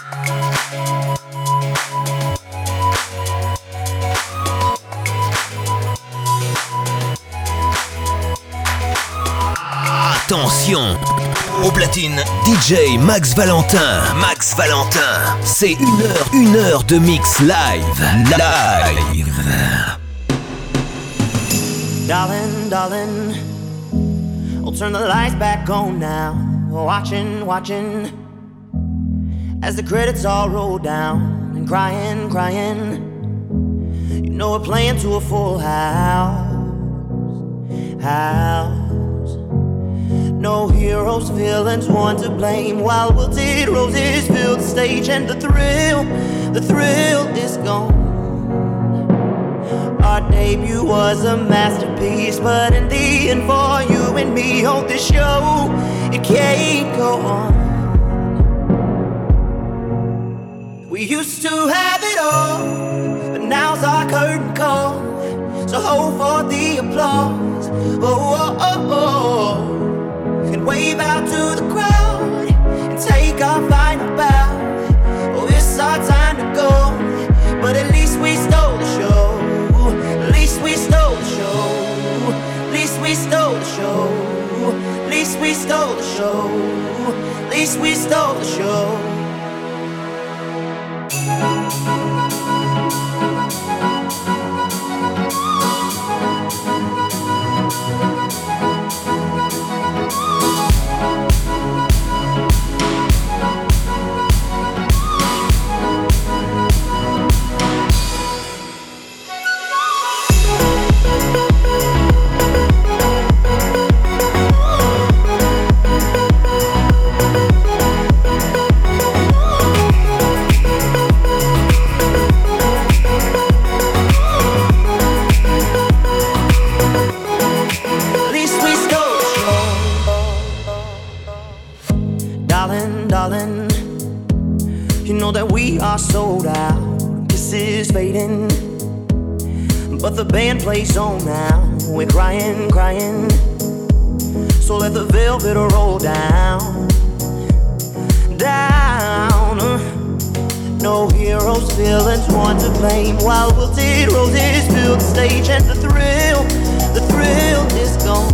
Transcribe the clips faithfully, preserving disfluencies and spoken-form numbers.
Attention, au platine, D J Max Valentin. Max Valentin, c'est une heure, une heure de mix live. Live. Darling, darling, I'll turn the lights back on now. Watching, watching, as the credits all roll down. And crying, crying, you know we're playing to a full house. House. No heroes, villains, one to blame. While wilted roses fill the stage, and the thrill, the thrill is gone. Our debut was a masterpiece, but in the end, for you and me, on this show, it can't go on. We used to have it all, but now's our curtain call. So hold for the applause. Oh, oh, oh, oh. And wave out to the crowd and take our final bow. Oh, it's our time to go, but at least we stole the show. At least we stole the show. At least we stole the show. At least we stole the show. At least we stole the show. Sold out, this is fading, but the band plays on now. We're crying, crying, so let the velvet roll down, down. No heroes, villains, one to blame. While wilted roses fill the stage, and the thrill, the thrill is gone.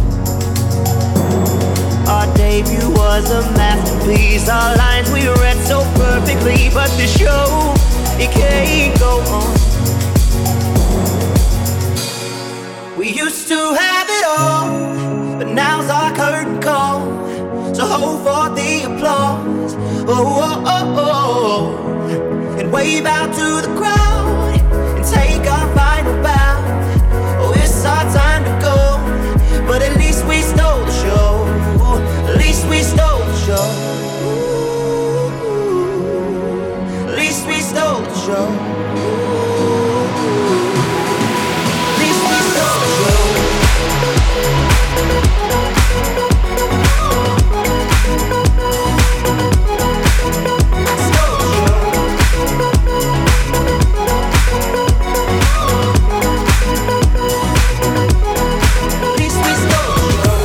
Our debut was a masterpiece. Our lines we read so perfectly, but the show, it can't go on. We used to have it all, but now's our curtain call. So hold for the applause. Oh, oh, oh, oh. And wave out to the crowd and take our final bow. Oh, it's our time to go, but at least we stole the show. At least we stole the show. Ooh, at least we stole the show. At least we stole the show. Stole the show. At least we stole the show.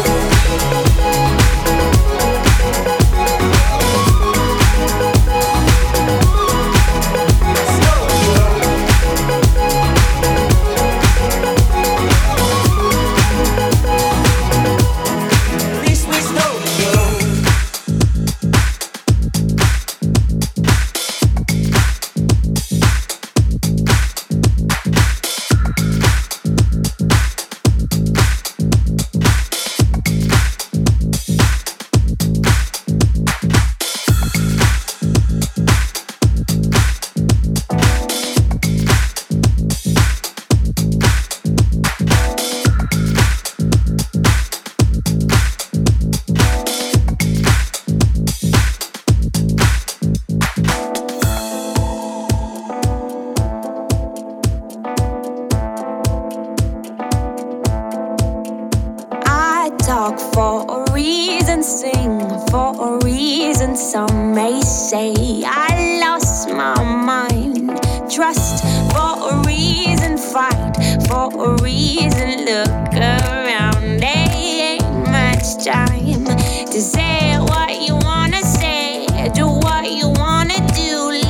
Time to say what you wanna say, do what you wanna do.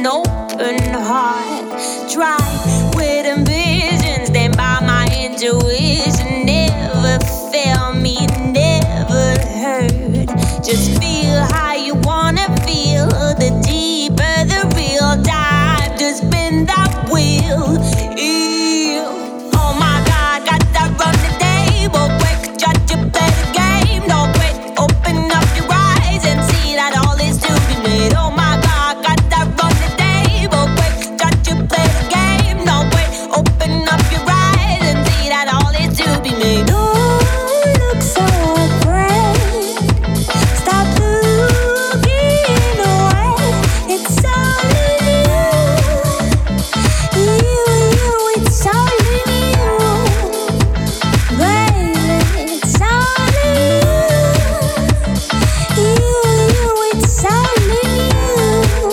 an open heart. Try with ambition, stand by my intuition. Never fail me, never hurt. Just feel how you wanna feel. The deeper the real dive to spin that wheel. Yeah. Oh my God, got that run the table. Quick, try to play the game. Don't quit, open up your eyes and see that all is to be made. Oh my God, got that run the table. Quick, try to play the game. Don't quit, open up your eyes and see that all is to be made. Oh, look so afraid. Stop looking away. It's all in you. You, you, it's all in you. Baby, it's all in you. You, you, it's all in you.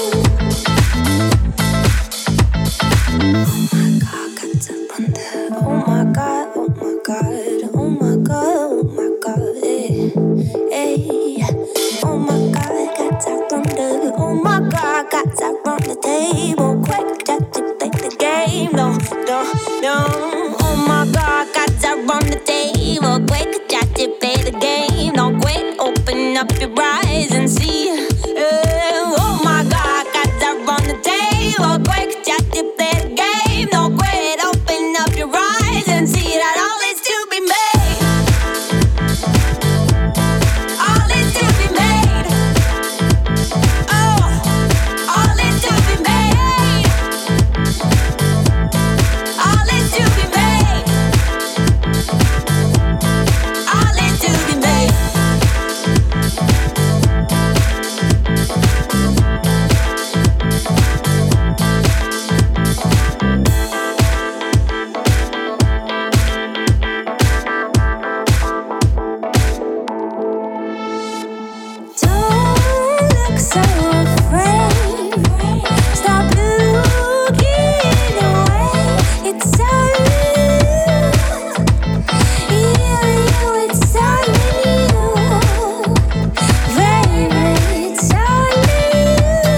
Oh my God, oh my God, oh my God, oh my God, eh, eh. Oh my God, got that thunder. Oh my God, got that on the table. Quick, got to play the game. No, no, no. Oh my God, got that on the table. Quick, got to play the game. No, quick, open up your eyes and see. Eh, oh my God, got that on the table. Quick, got to play the game. No, quit, open up your eyes and see that all is to be made. All is to be made. Oh, all is to be made. All is to be made. All is to be made. Don't look so afraid. Stop looking away. It's all in you. You, you, it's all in you. Baby, it's all in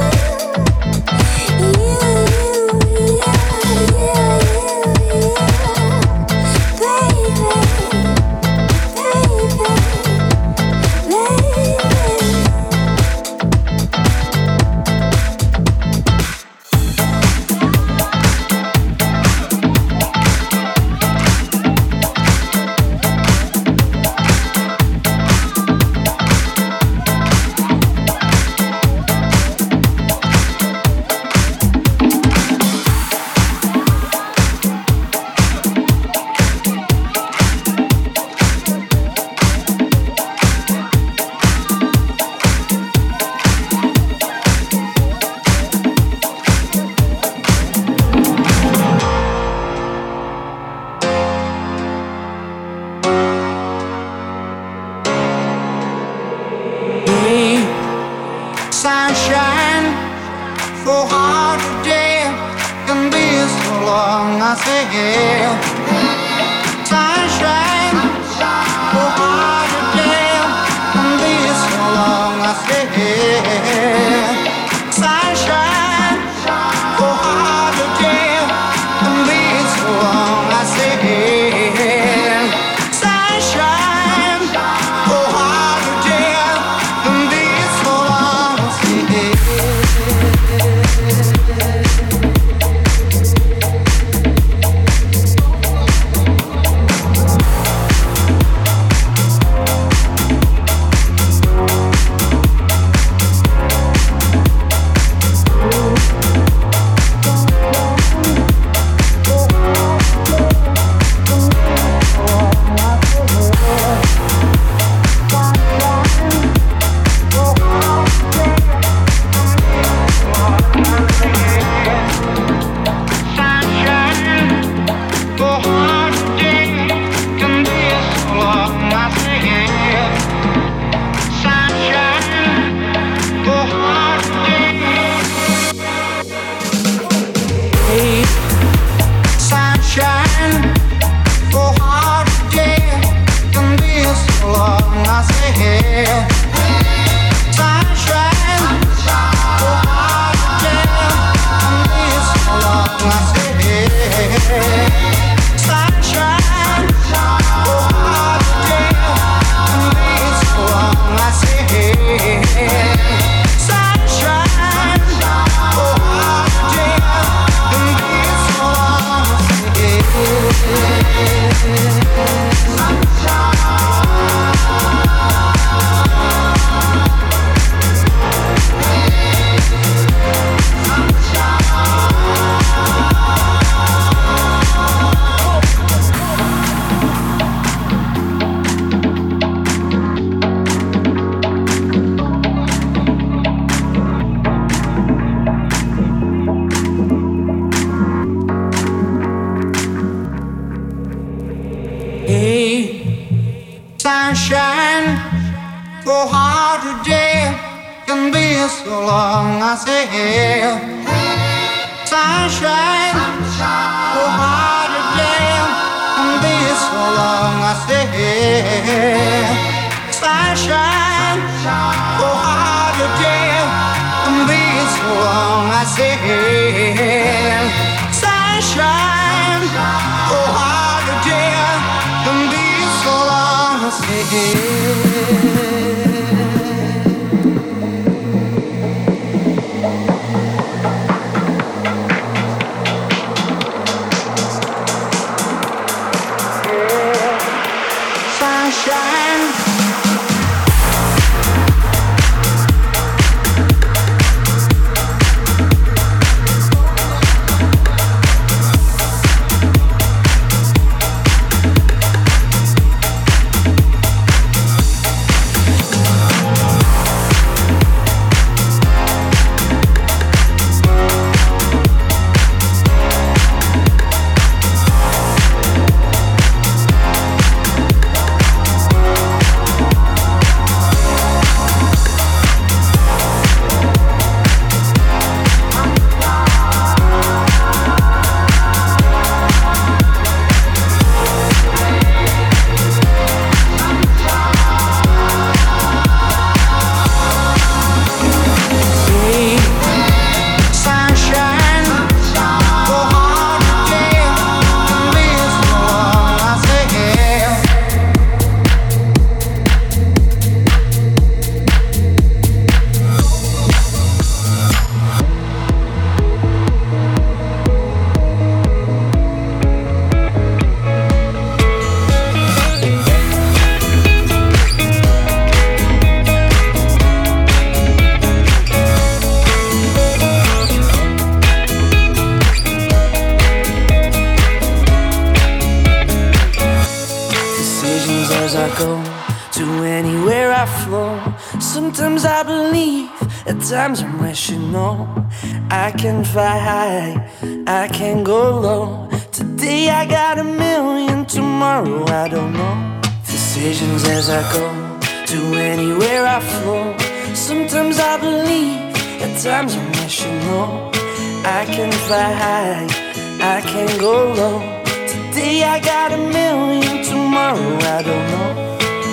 you. You, you, yeah, yeah, yeah, yeah. Baby, baby, baby. Sunshine, for hard day can be so long. I say, yeah. Sunshine, for hard day can be so long. I say, yeah. Sunshine, for hard day can be so long. I say, yeah. Sunshine, for hard day can be so long. I say, Sunshine, oh, hard day. Sunshine, for hard today can be so long. I say, sunshine, for hard today can be so long. I say, sunshine, for hard today can be so long. I say, sunshine, for hard today can be so long. I say. Times I'm wishing, no, I can fly high, I can go low. Today I got a million, tomorrow I don't know. Decisions as I go, to anywhere I flow. Sometimes I believe, at times I'm wishing, no, I can fly high, I can go low. Today I got a million, tomorrow I don't know.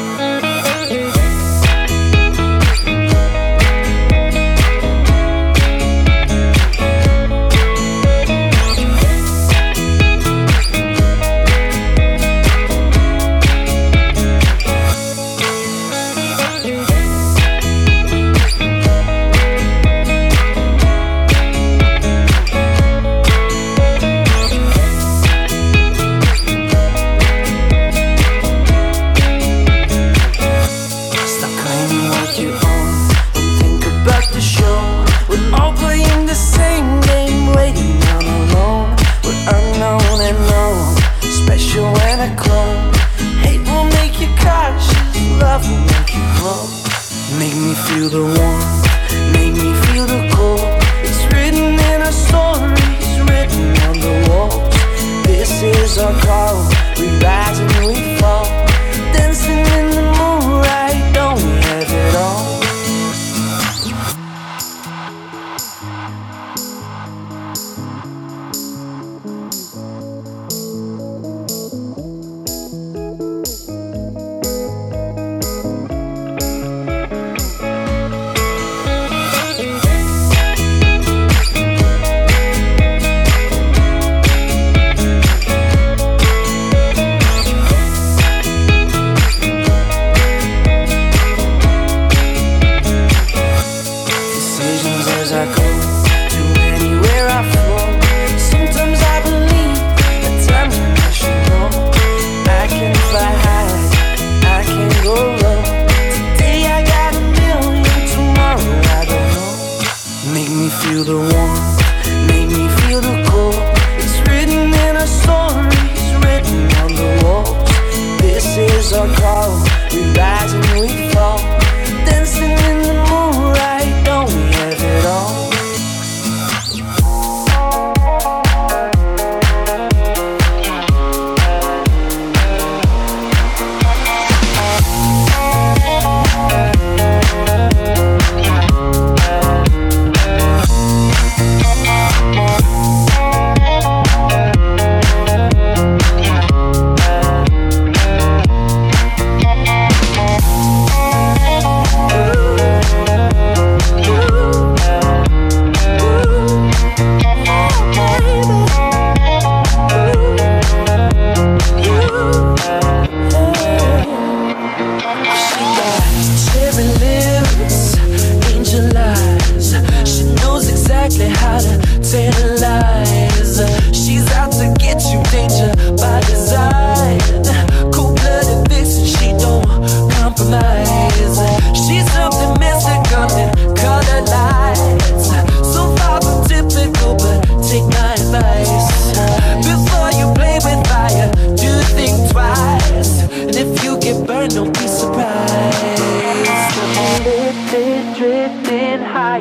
Feel the warmth, make me feel the cold. It's written in our stories, written on the walls. This is our call, we rise and we fall. Dancing in the moonlight, don't we have it all?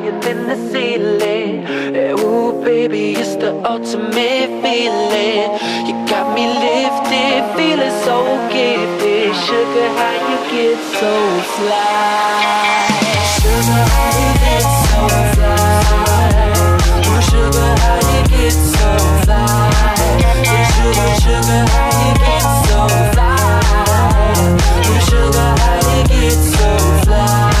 higher than the ceiling. Ooh, baby, it's the ultimate feeling. You got me lifted, feeling so gifted. Sugar, how you get so fly? Sugar, how you get so fly? Oh, sugar, how you get so fly? Sugar, sugar, how you get so fly? Oh, sugar, how you get so fly?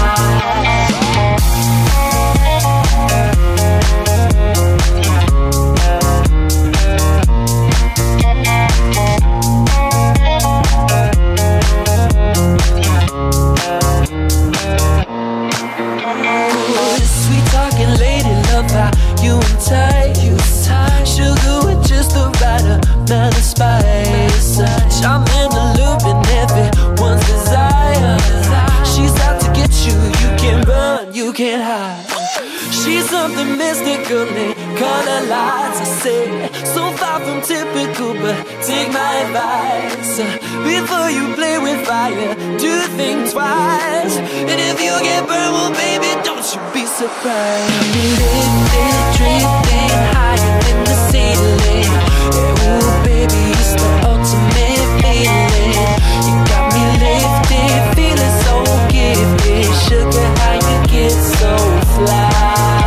Sweet talking lady, love how you entice. Sugar with just the right amount of spice. Charming, alluring, everyone's desire. She's out to get you, you can't run, you can't hide. She's something mystical in color lights, I say. So far from typical, but take my advice. Before you play with fire, do think twice. And if you get burned, well baby, don't you be surprised. You lifted, drifting higher than the ceiling. Yeah, ooh baby, it's the ultimate feeling. You got me lifted, feeling so gifted. Sugar, how you get so fly?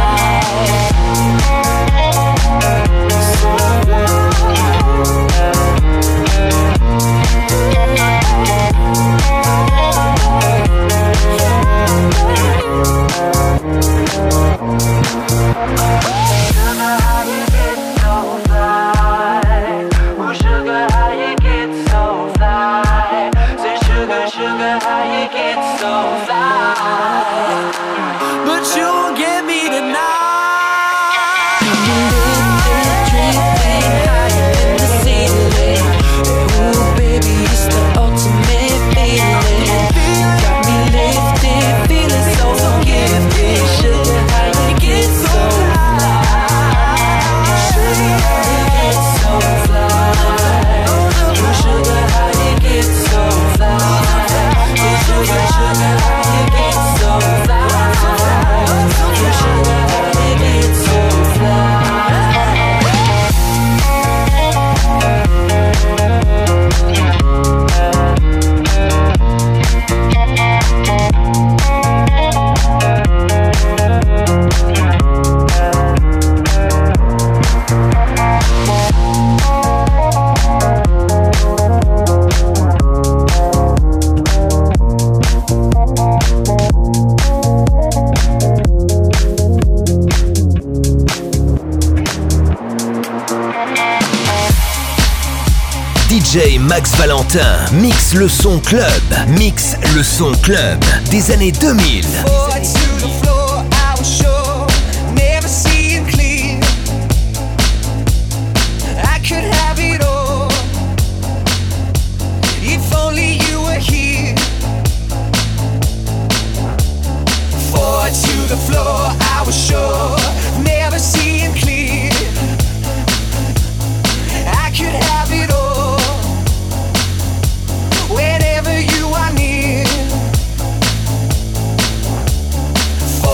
D J Max Valentin mixe le son club, mixe le son club des années deux mille. For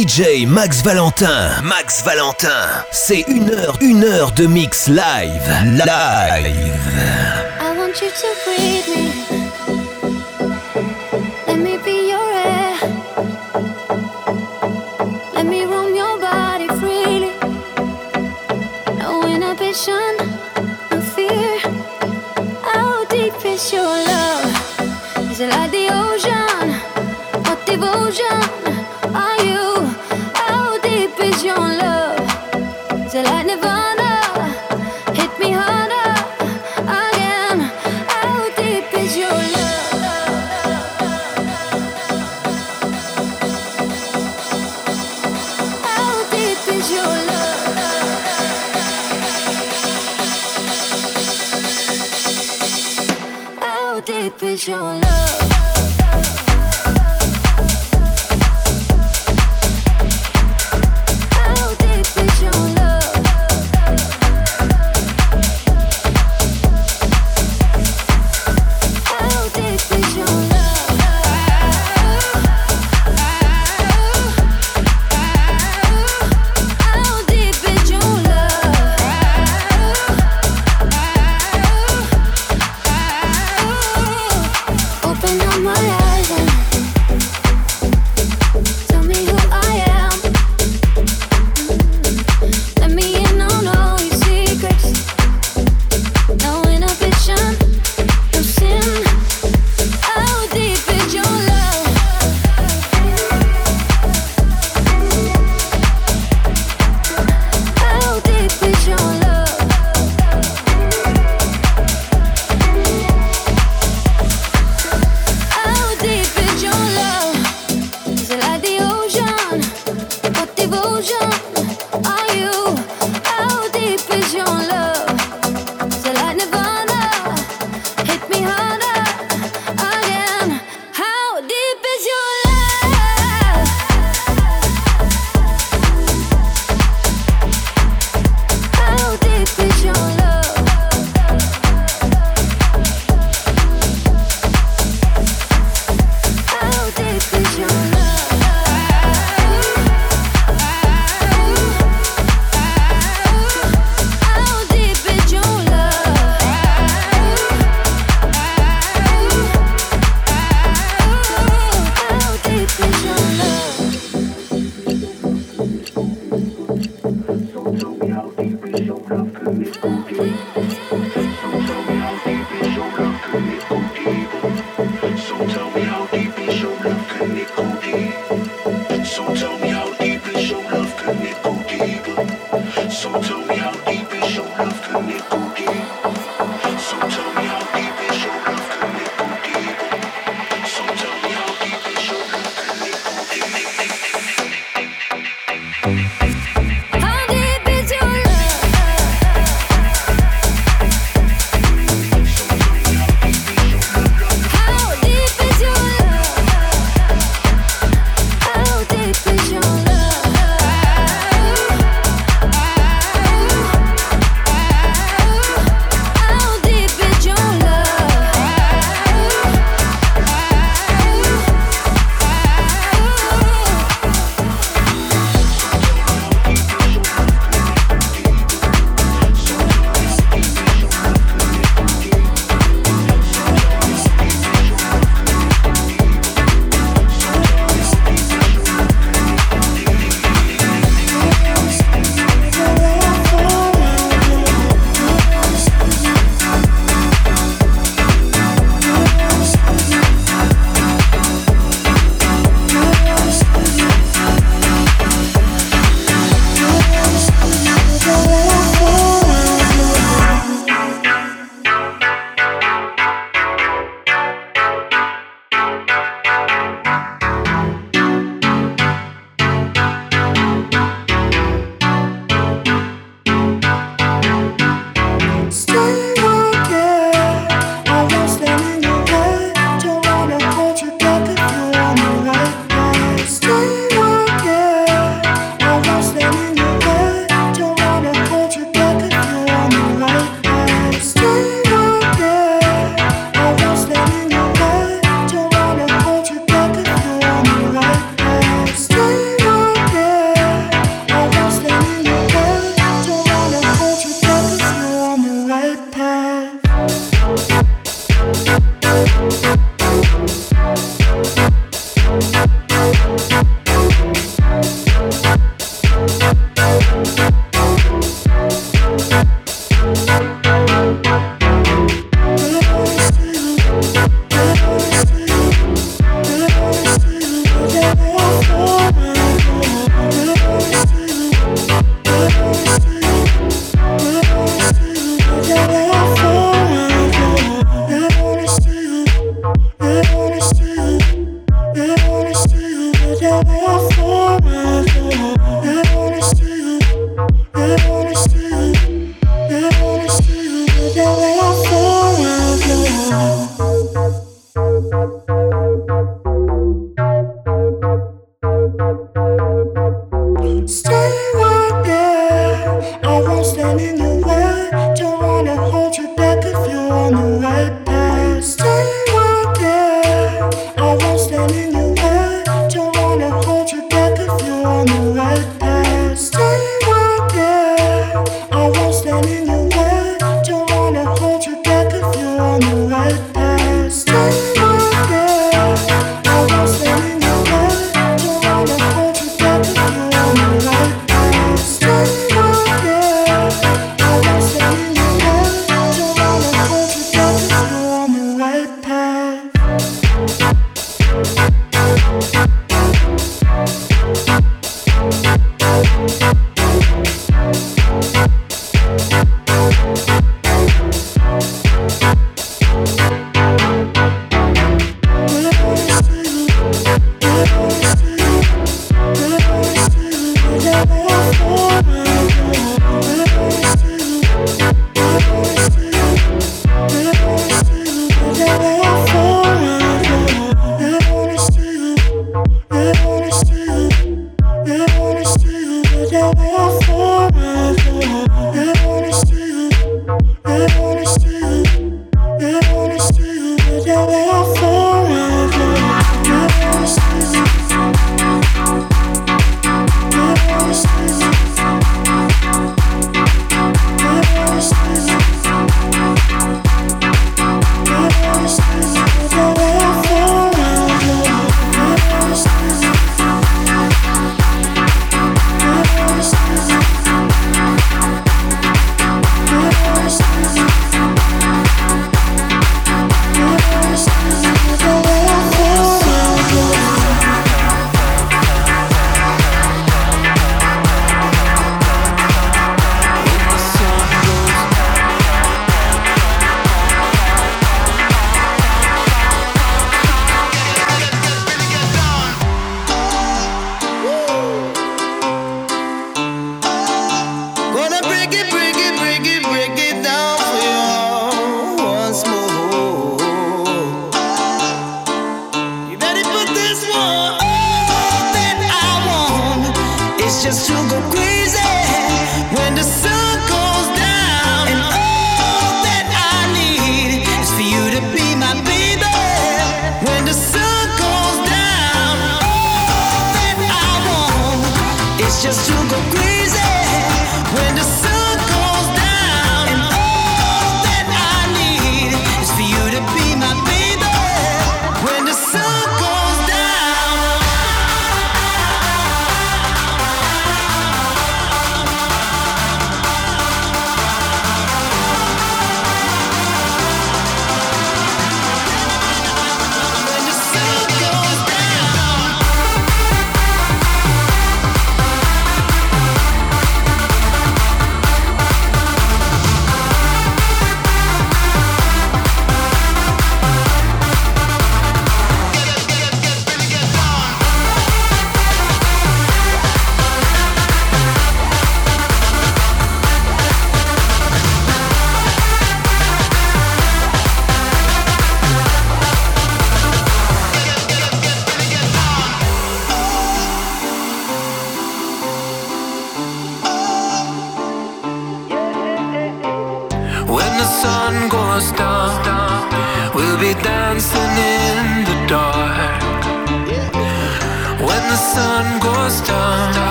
D J Max Valentin. Max Valentin, c'est une heure, une heure de mix live. Live. I want you to breathe me. Let me be your air. Let me roam your body freely. No inhibition, no fear. How deep is your love? Is it like the ocean? What devotion are you? How deep is your love? Is it like Nirvana? Hit me harder again. How deep is your love? How deep is your love? How deep is your love? How deep is your love? stand in your way. Don't wanna hold you back if you're on the right path. Stay right there. I won't stand in your way. Don't wanna hold you back if you're on the right path. Stay right there. I won't stand in your way. Don't wanna hold you back if you're on the right path. Stay right there. I won't stand in your way. Don't wanna hold you back if you're on the right path. Stay right there. I won't stand in your way. Don't wanna hold you back if you're on the right path.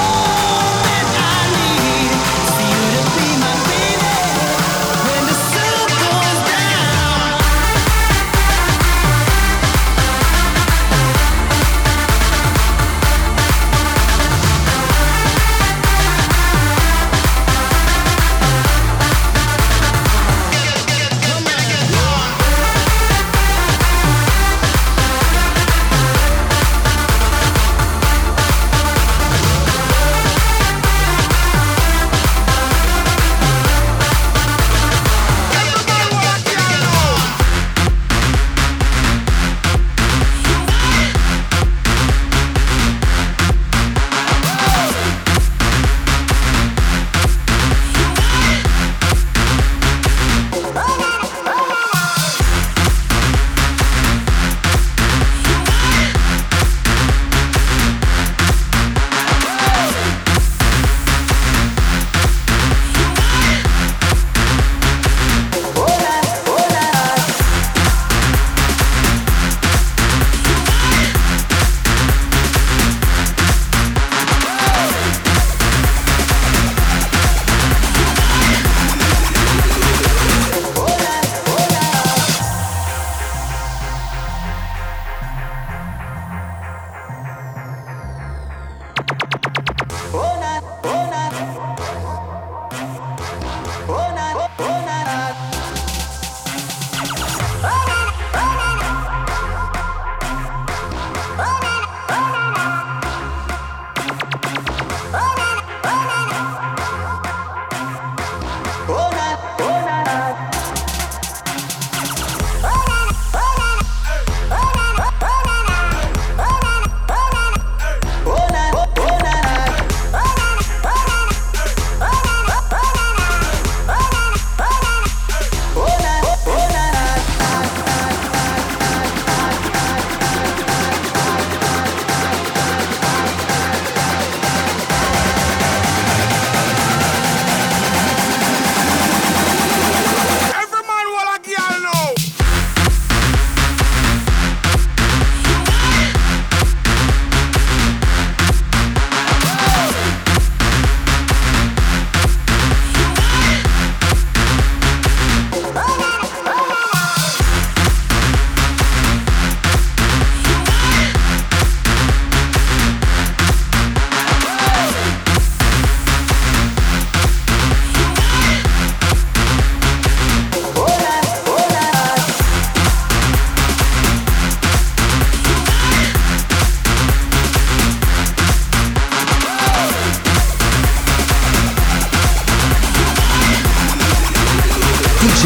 When the sun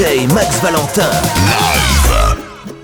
J Max Valentin. Live.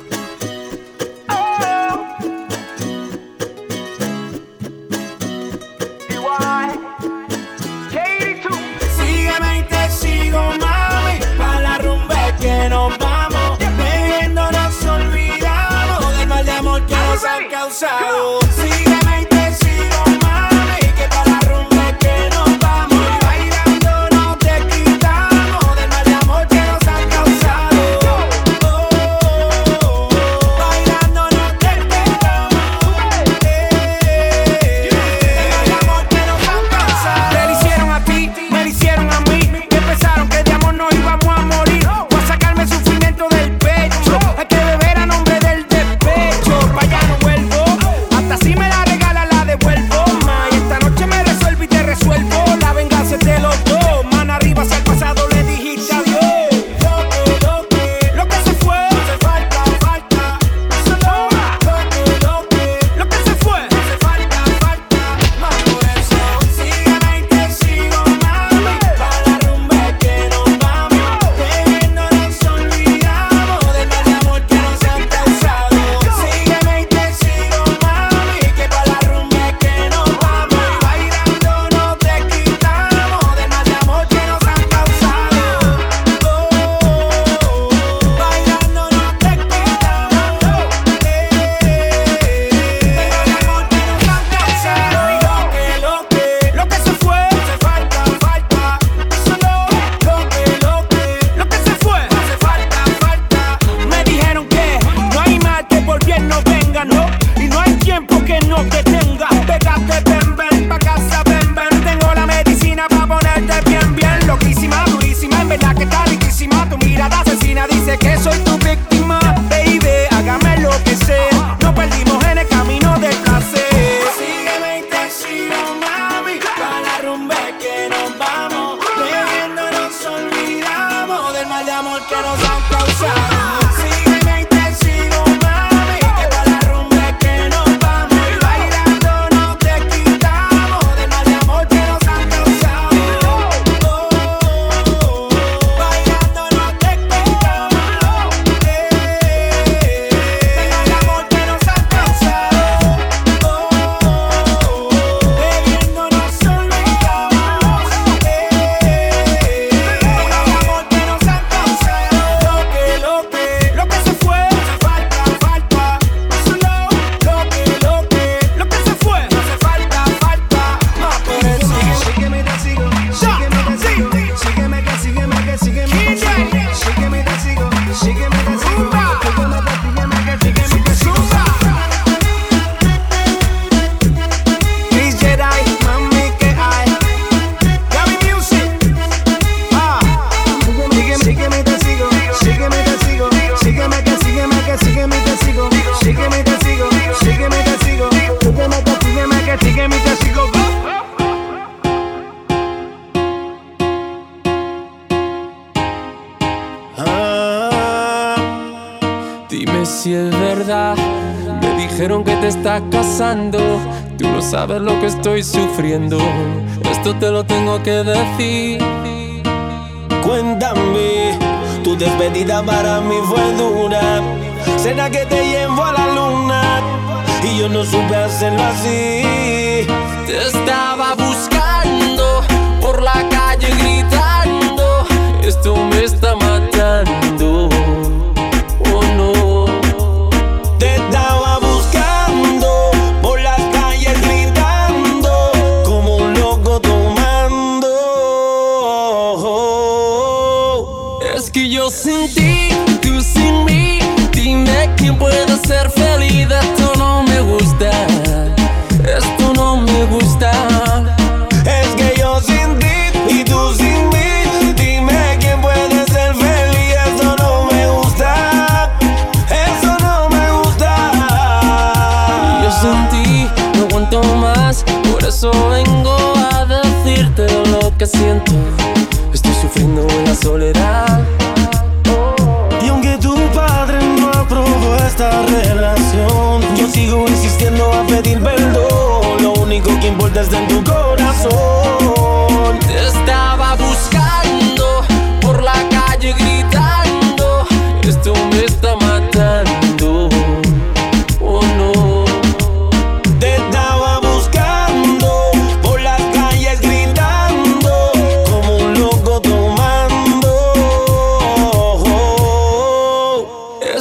Sígueme y te sigo, mami, pa' la rumba que nos vamos. Bebiendo nos olvidamos del mal de amor que nos han causado. Sígueme y te sigo, mami, que pa' la rumba que nos vamos. Y bailando no te quitamos del mal de amor que nos han causado. Oh, oh, oh, oh. Bailando no te quitamos eh, del amor que nos han causado. Te lo hicieron a ti, me lo hicieron a mí. Que pensaron que de amor nos íbamos a morir. Voy a sacarme el sufrimiento del pecho. Hay que beber a nombre del despecho. Pa' allá no vuelvo. Hasta si me la regala la devuelvo. Ma, y esta noche me resuelvo y te resuelvo. La venganza es de los dos. Mano arriba hacia el pasado le dijiste adiós. Lo que, lo que, lo que se fue. Hace falta, falta. Solo lo que, lo que, lo que se fue. Hace falta, falta. Más por eso. Sígueme y te sigo, mami. Pa' la rumba que nos vamos. Bebiendo nos olvidamos del mal de amor que nos han causado. Sígueme y te sigo, mami. Que pa' la rumba que nos vamos. Y bailando no te quitamos del mal de amor que nos han causado. Oh, oh, oh. Bailando no te quitamos eh, del amor que nos han causado. Y lo que, lo que, lo que se fue. Hace falta, falta. Solo lo que, lo que, lo que se fue. Hace falta, falta. Me dijeron que no hay mal que por bien no venga, no. Y no hay tiempo que no te tenga. Pégate, ven, ven, pa' casa, ven, ven. Tengo la medicina pa' ponerte bien, bien. Loquísima, durísima, en verdad que está riquísima. Tu mirada asesina dice que soy tu víctima. Baby, hágame lo que sea. Nos perdimos en el camino del placer. Sígueme y te sigo, mami. Pa' la rumba que nos vamos. Bebiendo nos olvidamos del mal de amor que nos han causado. Sígueme y te sigo, mami. Que pa' la rumba que nos vamos. Y bailando no te quitamos del mal de amor que nos han causado. Oh, oh, oh. Bailando no te quitamos eh, del amor que nos han causado. Oh, oh, oh. Bebiendo nos olvidamos eh, del amor que nos han causado. Lo que, lo que, lo que se fue. Hace falta, falta. Solo lo que, lo que, lo que se fue. Hace falta, falta. Más por eso. Sígueme y te sigo. Sígueme y te sigo. Sígueme que, sígueme que, sígueme que, sígueme. Sígueme y te sigo. Sígueme y te sigo. Sígueme que, sígueme que, sígueme y te sigo. Chris Jedi, mami, que hay. Gaby Music. Ah. Sígueme, sígueme y te sigo. Sígueme y te sigo. Sígueme que, sígueme que, sígueme y te sigo. Sígueme y te sigo. Sígueme y te sigo. Sígueme que, sígueme que, sígueme y te sigo. Ah, dime si es verdad. Me dijeron que te estás casando. Tú no sabes lo que estoy sufriendo. Esto te lo tengo que decir. Cuéntame, tu despedida para mí fue dura. Cena que te llevo a la luna y yo no supe hacerlo así. Te estaba buscando por la calle gritando. Esto me está matando. Oh no. Te estaba buscando por las calles gritando como un loco tomando. Es que yo sin ti, tú sin mí. Dime quién puede ser feliz. Esto no me gusta. Esto no me gusta. Es que yo sin ti y tú sin mí. Dime quién puede ser feliz. Eso no me gusta. Eso no me gusta. Yo sin ti no aguanto más. Por eso vengo a decirte lo que siento. Estoy sufriendo en la soledad. Y aunque tu padre no aprobó esta relación, yo sigo insistiendo a pedir perdón. Lo único que importa está en tu corazón. Te estaba buscando por la calle gritando.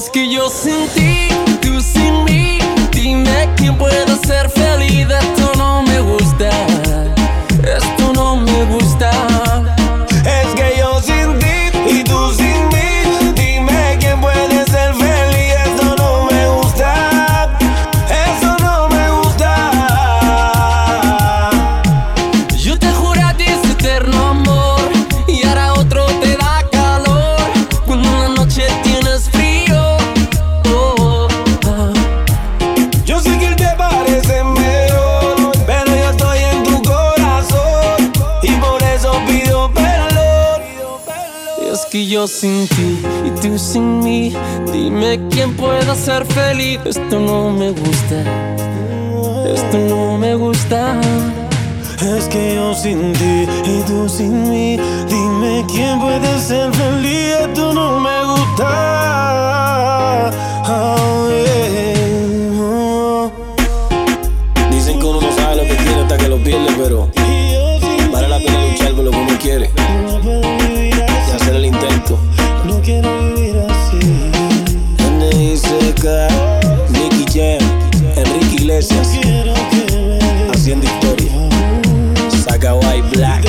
Es que yo sin ti, tú sin mí, dime quién puede ser feliz. Esto no me gusta, esto no me gusta. Es que yo sin ti y tú sin mí, dime quién puede ser feliz. Esto no me gusta, eso no me gusta. Yo te juré a ti ese eterno amor y ahora otro te da calor cuando en la noche tienes frío. Oh, oh. Yo sé que él te parece mejor, pero yo estoy en tu corazón y por eso pido perdón. Es que yo sin ti y tú sin mí, dime quién puede ser feliz. Esto no me gusta, esto no me gusta. Es que yo sin ti y tú sin mí, dime quién puede ser feliz. Esto no me gusta. Oh, yeah. Oh. Dicen que uno no sabe lo que quiere hasta que lo pierde, pero vale la pena luchar por lo que uno quiere y hacer el intento. No quiero vivir así. N I C K, Nicky Jam, Enrique Iglesias, haciendo historia. Saca White Black.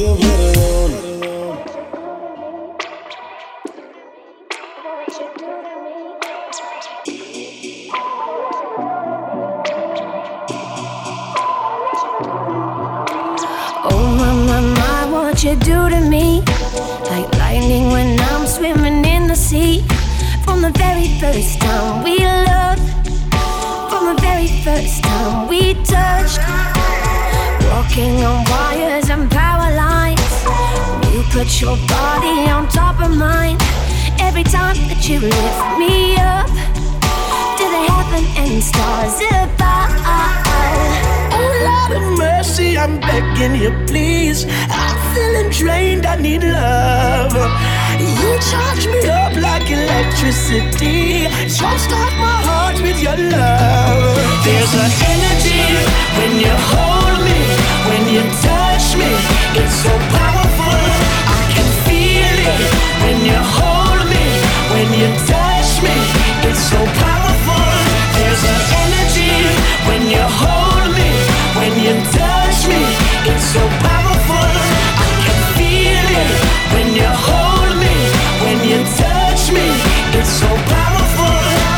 Oh my, my, my, what you do to me? Like lightning when I'm swimming in the sea. From the very first time we loved, from the very first time we touched, walking on wires and power lines. You put your body on top of mine. Every time that you lift me up to the heaven and stars above. Oh Lord of mercy, I'm begging you please. I'm feeling drained, I need love. You charge me up like electricity. Jumpstart my heart with your love. There's an energy when you hold me, when you touch me. It's so powerful, I can feel it. When you hold me, when you touch me. It's so powerful. There's an energy when you hold me, when you touch me. It's so powerful, I can feel it. When you hold me, when you touch me. It's so powerful.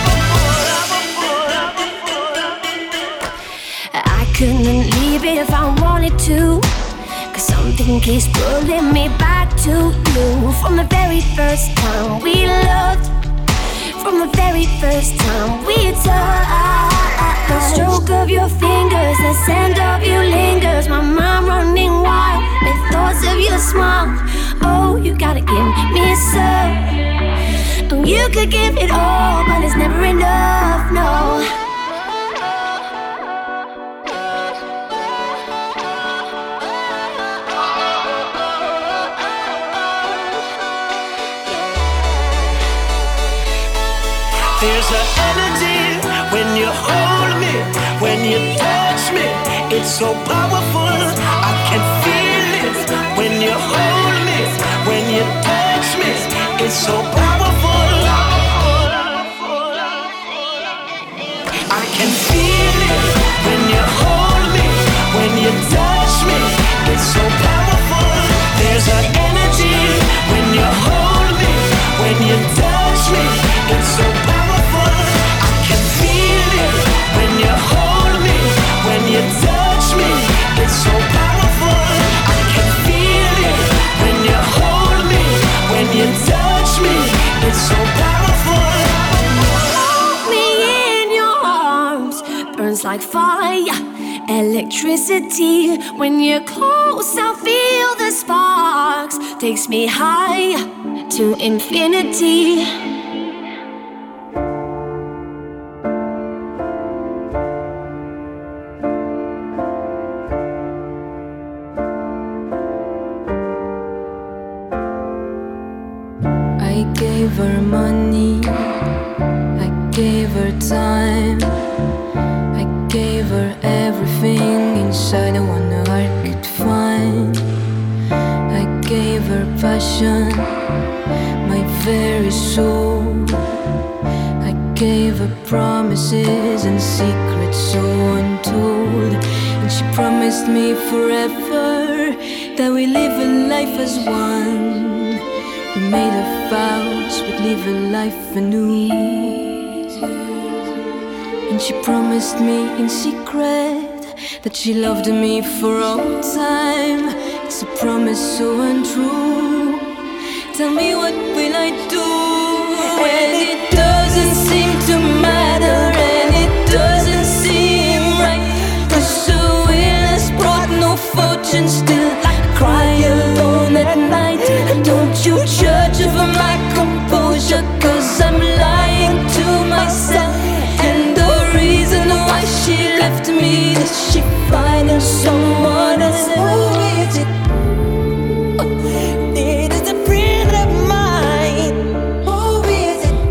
I couldn't leave it if I wanted to, 'cause something keeps pulling me back to you. From the very first time we loved, from the very first time we touched. The stroke of your fingers, the scent of you lingers. My mind running wild with thoughts of your smile. Oh, you gotta give me some. And you could give it all, but it's never enough, no. There's an energy when you hold me, when you touch me. It's so powerful, I can feel it. When you hold me, when you touch me. It's so powerful, I can feel it. When you hold me, when you touch me. It's so powerful. There's an energy when you hold me, when you touch me. It's so powerful, I can feel it. When you hold me, when you touch me. It's so powerful, I can feel it. When you hold me, when you touch me. It's so powerful. Hold me in your arms, burns like fire, electricity. When you're close, I feel the sparks. Takes me higher to infinity. I gave her money, I gave her time, I gave her everything inside the one heart could find. I gave her passion, my very soul. gave her promises and secrets so untold. And she promised me forever that we live a life as one. We made a vows we'd live a life anew. And she promised me in secret that she loved me for all time. It's a promise so untrue. Tell me, what will I do when it doesn't seem to matter and it doesn't seem right? Cause the will has brought no fortune, still I cry alone at night. Don't you judge over my composure, cause I'm lying to myself. And the reason why she left me is she finding someone else. Who is it? It is a friend of mine. Who is it?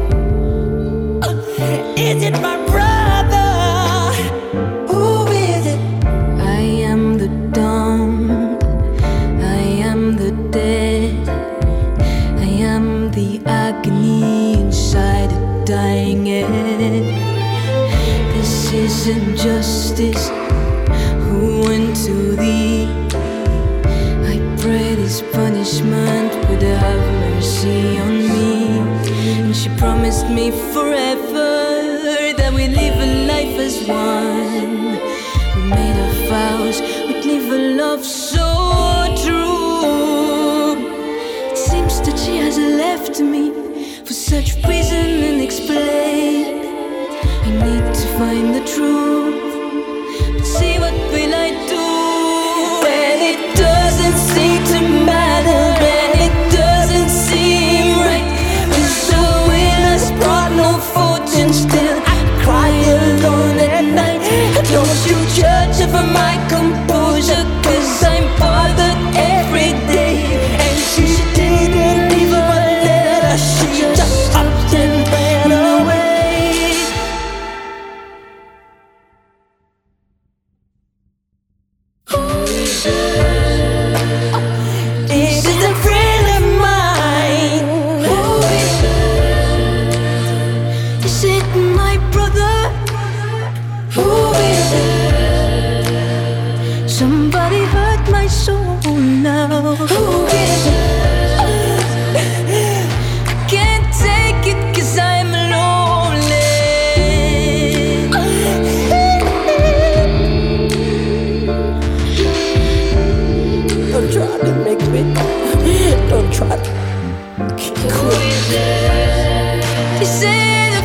Is it my brother? Who is it? I am the dumb, I am the dead, I am the agony inside a dying head. This isn't justice. Who went to thee? I pray this punishment would have mercy on me. And she promised me forever that we live a life as one. We made our vows, we'd live a love so true. It seems that she has left me for such reason unexplained. I need to find the truth. But see, what will I do when it doesn't seem to matter and it doesn't seem right? Cause the will has brought no fortune, still I cry alone at night. Don't you judge over my composure, cause I'm bothered every day. And she didn't leave a letter, she just up and ran away. Is it a friend of mine? Who is it? Is it my brother? Who is it? Somebody hurt my soul now. Who is it? I can't take it cause I'm lonely. Don't try to make me, don't try to quit. Is it